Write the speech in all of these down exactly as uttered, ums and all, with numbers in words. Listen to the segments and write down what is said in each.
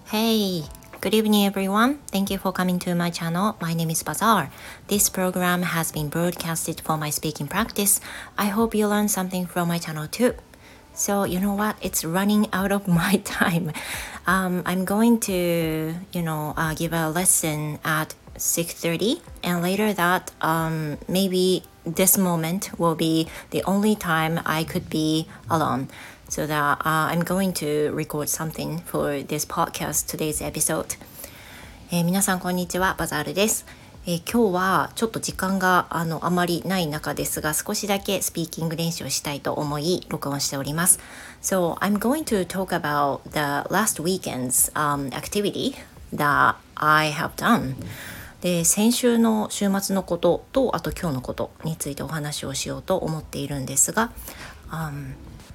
Hey, good evening everyone. Thank you for coming to my channel. My name is Bazaar. This program has been broadcasted for my speaking practice. I hope you learn something from my channel too. So you know what? It's running out of my time. Um, I'm going to, you know, uh, give a lesson at six thirty, and later that um, maybe this moment will be the only time I could be alone. So that uh, I'm going to record something for this podcast, today's episode. えー、皆さんこんにちは、バザールです。えー、今日はちょっと時間があのあまりない中ですが、少しだけスピーキング練習をしたいと思い録音しております。So I'm going to talk about the last weekend's、um, activity that I have done. で、先週の週末のことと、あと今日のことについてお話をしようと思っているんですが、um,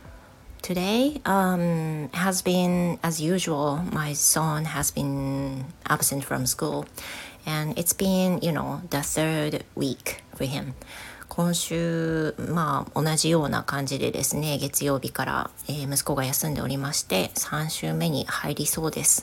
Today um, has been, as usual, my son has been absent from school. And it's been, you know, the third week for him. 今週、まあ、同じような感じでですね、月曜日から、えー、息子が休んでおりまして、さん週目に入りそうです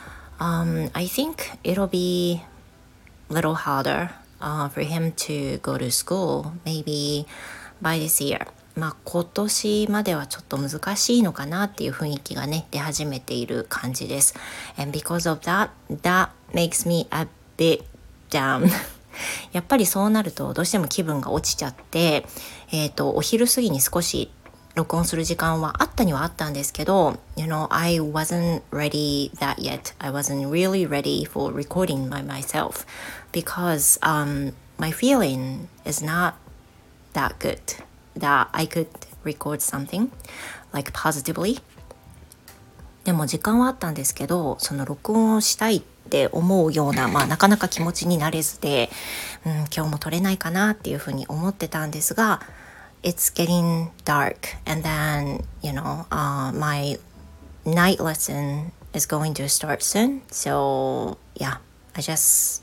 。Um, I think it'll be a little harder、uh, for him to go to school, maybe by this year.まあ、今年まではちょっと難しいのかなっていう雰囲気がね出始めている感じです。And because of that, that makes me a bit down. やっぱりそうなるとどうしても気分が落ちちゃって、えーと、お昼過ぎに少し録音する時間はあったにはあったんですけど、You know, I wasn't ready that yet. I wasn't really ready for recording by myself because、um, my feeling is not that good.that I could record something like positively. でも時間はあったんですけど、その録音をしたいって思うような、まあなかなか気持ちになれずで、うん、今日も撮れないかなっていうふうに思ってたんですが、It's getting dark and then, you know,、uh, my night lesson is going to start soon. So, yeah, I just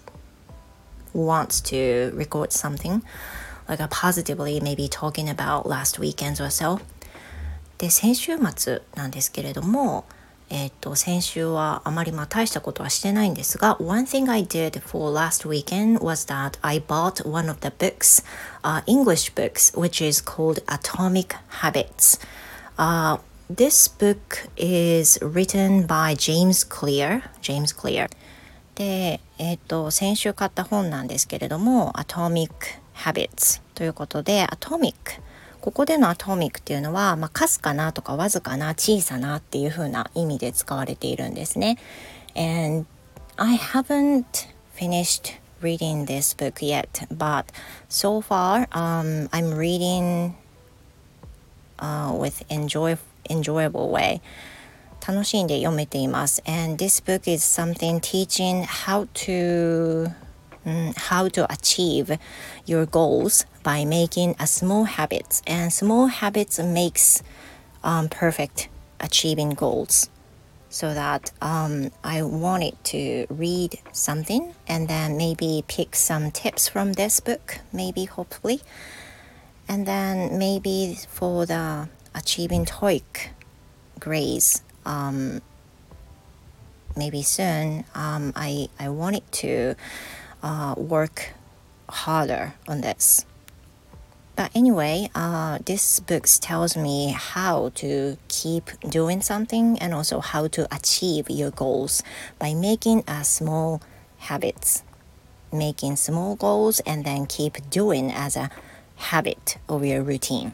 want to record something.Like a positively maybe talking about last weekends or so. で、先週末なんですけれども、えっと、先週はあまりまあ大したことはしてないんですが、One thing I did for last weekend was that I bought one of the books,、uh, English books, which is called Atomic Habits.、Uh, this book is written by James Clear. James Clear. で、えっと、先週買った本なんですけれども、Atomic Habits ということで Atomic ここでの Atomic っていうのは、まあ、かすかなとかわずかな小さなっていう風な意味で使われているんですね。 And I haven't finished reading this book yet, but so far、um, I'm reading、uh, with enjoy, enjoyable way. 楽しんで読めています。 And this book is something teaching how to...how to achieve your goals by making a small habits, and small habits makes、um, perfect achieving goals. So that um, I wanted to read something and then maybe pick some tips from this book, maybe hopefully, and then maybe for the achieving TOEIC grades、um, maybe soon um, I I wanted to.Uh, work harder on this. But anyway, uh, this book tells me how to keep doing something and also how to achieve your goals by making a small habits. Making small goals and then keep doing as a habit of your routine.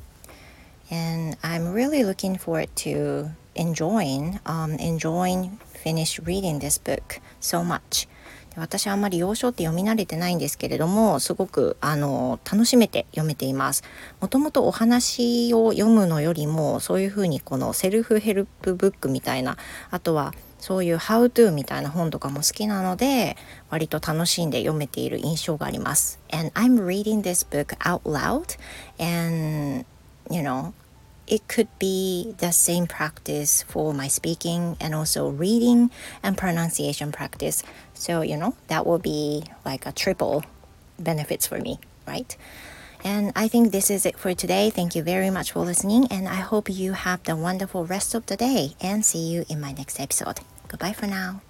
And I'm really looking forward to enjoying, um, enjoying finish reading this book so much.私はあんまり洋書って読み慣れてないんですけれども、すごくあの楽しめて読めています。もともとお話を読むのよりもそういうふうにこのセルフヘルプブックみたいな、あとはそういう How to みたいな本とかも好きなので、割と楽しんで読めている印象があります。And I'm reading this book out loud and you know it could be the same practice for my speaking and also reading and pronunciation practice. So, you know, that will be like a triple benefits for me, right? And I think this is it for today. Thank you very much for listening, and I hope you have the wonderful rest of the day, and see you in my next episode. Goodbye for now.